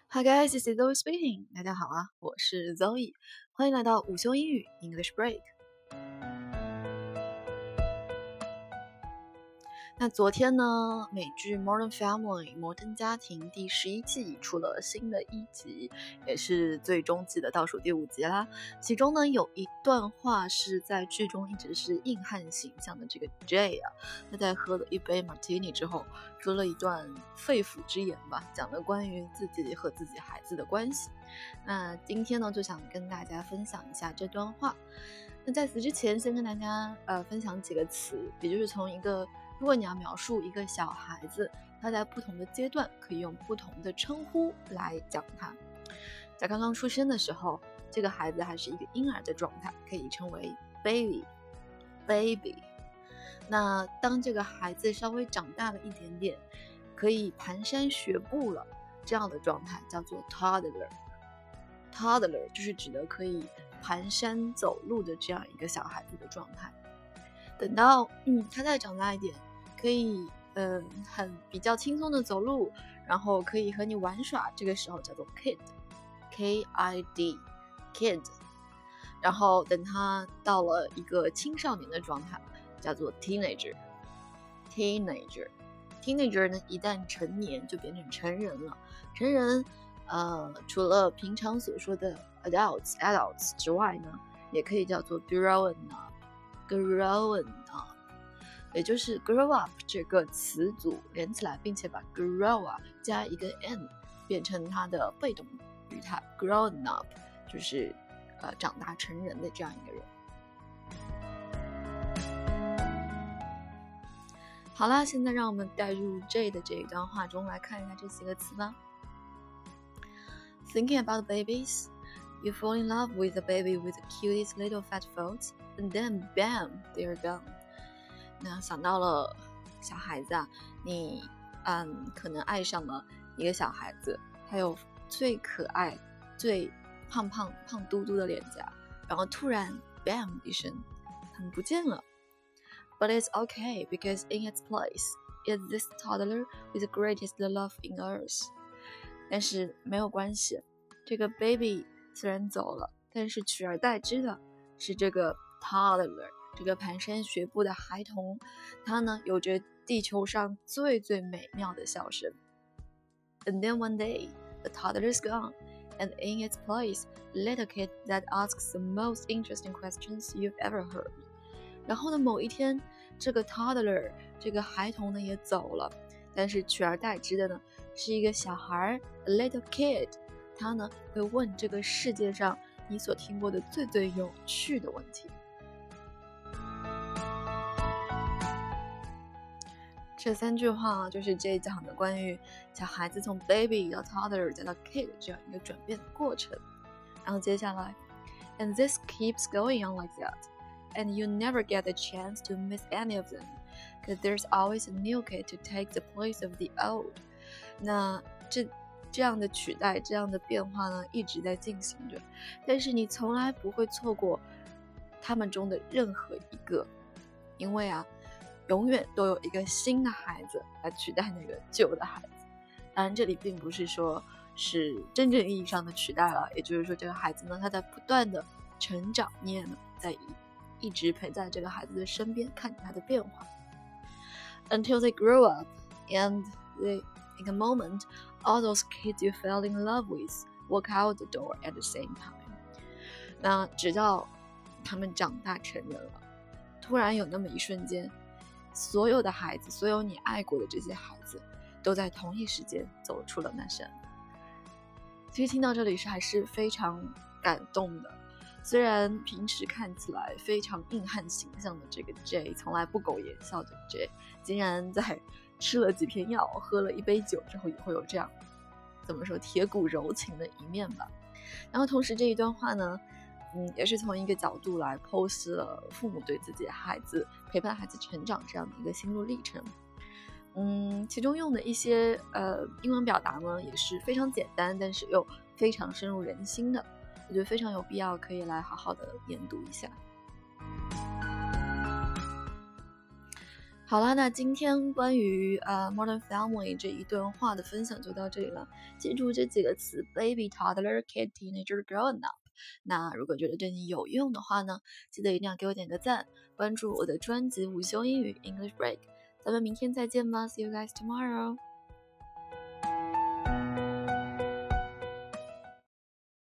Hi guys, this is Zoe speaking. 大家好啊，我是 Zoe， 欢迎来到午休英语 English Break。那昨天呢，美剧 Modern Family 摩登家庭第11季出了新的一集，也是最终季的倒数第5集啦。其中呢，有一段话是在剧中一直是硬汉形象的这个 Jay 啊，他在喝了一杯 Martini 之后，说了一段肺腑之言吧，讲了关于自己和自己孩子的关系。那今天呢，就想跟大家分享一下这段话。那在此之前，先跟大家分享几个词，也就是从一个如果你要描述一个小孩子，他在不同的阶段可以用不同的称呼来讲他。在刚刚出生的时候，这个孩子还是一个婴儿的状态，可以称为 baby。那当这个孩子稍微长大了一点点，可以蹒跚学步了，这样的状态叫做 toddler。toddler 就是指的可以蹒跚走路的这样一个小孩子的状态。等到他再长大一点，可以很比较轻松的走路，然后可以和你玩耍，这个时候叫做 kid。 kid。 然后等他到了一个青少年的状态，叫做 teenager。 呢，一旦成年就变成成人了。成人除了平常所说的 adults 之外呢，也可以叫做 grown up， 也就是 grow up 这个词组连起来，并且把 grow up 加一个 n 变成它的被动语态 grown up， 就是长大成人的这样一个人。好啦，现在让我们带入 J 的这一段话中来看一下这几个词吧。Thinking about babies, you fall in love with a baby with the cutest little fat folds, and then bam, they're gone. 那想到了小孩子啊，你可能爱上了一个小孩子，还有最可爱、最胖嘟嘟的脸颊，然后突然 bam 一声，他们不见了。But it's okay, because in its place is this toddler with the greatest love in earth. 但是没有关系，这个 baby 虽然走了，但是取而代之的是这个 toddler， 这个蹒跚学步的孩童，他呢有着地球上最美妙的笑声。And then one day, the toddler is gone, and in its place, a little kid that asks the most interesting questions you've ever heard. 然后呢，某一天，这个 toddler 这个孩童呢也走了，但是取而代之的呢是一个小孩 a little kid， 他呢会问这个世界上你所听过的最有趣的问题。这3句话就是这讲的关于小孩子从 baby 到 toddler 再到 kid 这样一个转变的过程。然后接下来 and this keeps going on like that，and you never get a chance to miss any of them, because there's always a new kid to take the place of the old. 那这样的取代，这样的变化呢，一直在进行着，但是你从来不会错过他们中的任何一个，因为永远都有一个新的孩子来取代那个旧的孩子。当然，这里并不是说是真正意义上的取代了，也就是说，这个孩子呢，他在不断的成长，你也在一直陪在这个孩子的身边，看着他的变化。Until they grow up, and in a moment, all those kids you fell in love with walk out the door at the same time. 那直到他们长大成人了，突然有那么一瞬间，所有的孩子，所有你爱过的这些孩子，都在同一时间走出了那扇门。其实听到这里还是非常感动的。虽然平时看起来非常硬汉形象的这个 J， 从来不苟言笑的 J， 竟然在吃了几片药，喝了一杯酒之后，也会有这样怎么说铁骨柔情的一面吧。然后同时这一段话呢，也是从一个角度来剖析了父母对自己的孩子陪伴孩子成长这样的一个心路历程。其中用的一些英文表达呢，也是非常简单，但是又非常深入人心的。我觉得非常有必要可以来好好的研读一下。 好啦，那今天关于Modern Family 这一段话的分享就到这里了。记住这几个词 ：baby、toddler、kid、teenager、grown up。那如果觉得对你有用的话呢，记得一定要给我点个赞，关注我的专辑午休英语 English Break。咱们明天再见吧，See you guys tomorrow。